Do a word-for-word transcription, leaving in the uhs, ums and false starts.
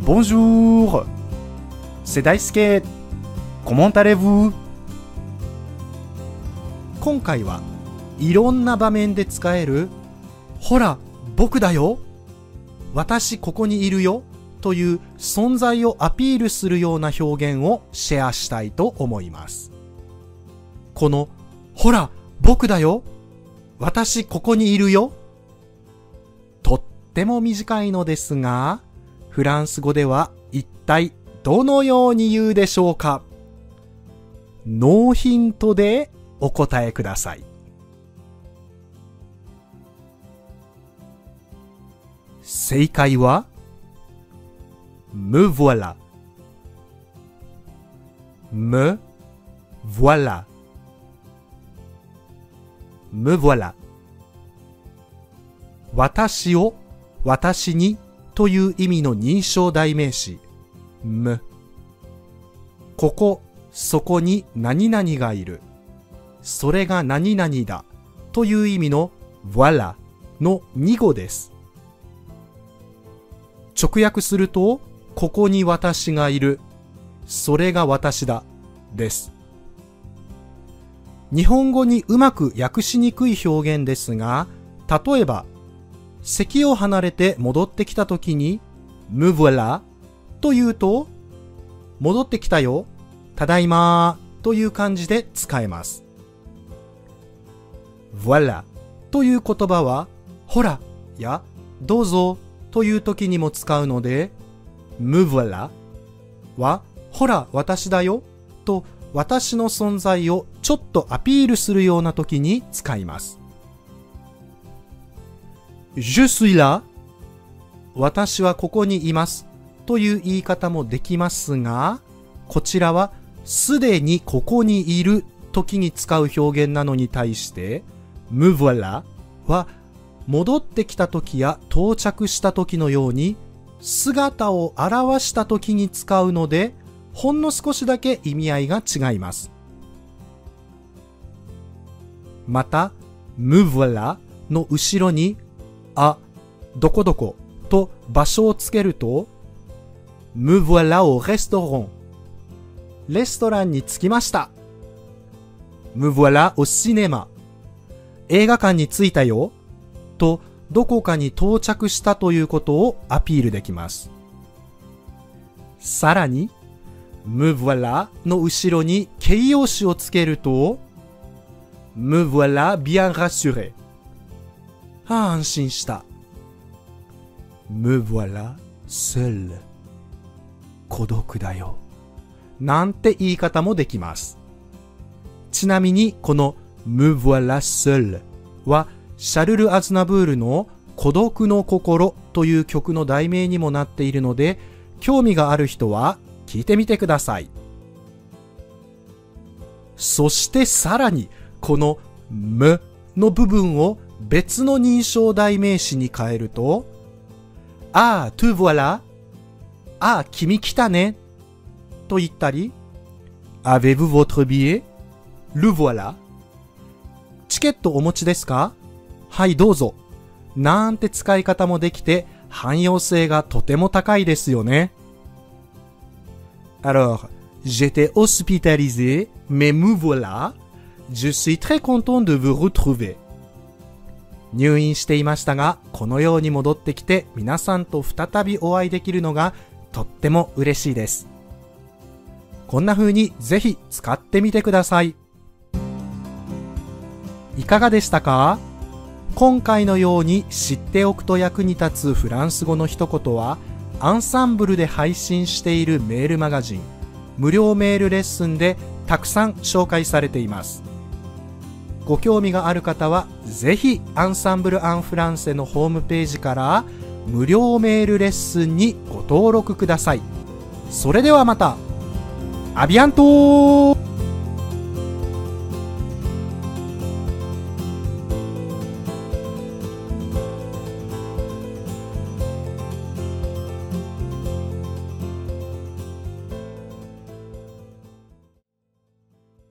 Bonjour, c'est Daisuke. Comment allez-vous? 今回はいろんな場面で使えるほら僕だよ、私ここにいるよという存在をアピールするような表現をシェアしたいと思います。このほら僕だよ、私ここにいるよ、とっても短いのですが、フランス語では一体どのように言うでしょうか。ノーヒントでお答えください。正解は Me voilà Me voilà Me voilà 私を私にという意味の認証代名詞 Me ここそこに何々がいる、それが何々だという意味の voilà のに語です。直訳すると、ここに私がいる、それが私だです。日本語にうまく訳しにくい表現ですが、例えば席を離れて戻ってきたときに Me voilà というと、戻ってきたよ、ただいまという感じで使えます。voilà という言葉はほらやどうぞという時にも使うので、Me voilà はほら私だよと私の存在をちょっとアピールするような時に使います。Je suis là 私はここにいますという言い方もできますが、こちらはすでにここにいる時に使う表現なのに対して、Me voilà は戻ってきた時や到着した時のように姿を現した時に使うので、ほんの少しだけ意味合いが違います。また Me voilà の後ろにあ、どこどこと場所をつけると Me voilà au restaurant レストランに着きました。 Me voilà au cinéma 映画館に着いたよとどこかに到着したということをアピールできます。さらに Me voilà の後ろに形容詞をつけると Me voilà bien rassuré、はあ、安心した。Me voilà seul 孤独だよなんて言い方もできます。ちなみにこの Me voilà seul はシャルル・アズナブールの孤独の心という曲の題名にもなっているので、興味がある人は聞いてみてください。そしてさらにこの Me の部分を別の認証代名詞に変えると、ああ、tu voilà、ああ、君来たね、と言ったり、avez-vous votre billet？ le voilà。チケットお持ちですか？はい、どうぞ。なんて使い方もできて、汎用性がとても高いですよね。Alors, j'étais hospitalisé, mais me voilà. Je suis très content de vous retrouver. 入院していましたが、このように戻ってきて皆さんと再びお会いできるのがとっても嬉しいです。こんな風にぜひ使ってみてください。いかがでしたか？今回のように知っておくと役に立つフランス語の一言は、アンサンブルで配信しているメールマガジン、無料メールレッスンでたくさん紹介されています。ご興味がある方はぜひアンサンブル・アン・フランセのホームページから無料メールレッスンにご登録ください。それではまた。アビアントー。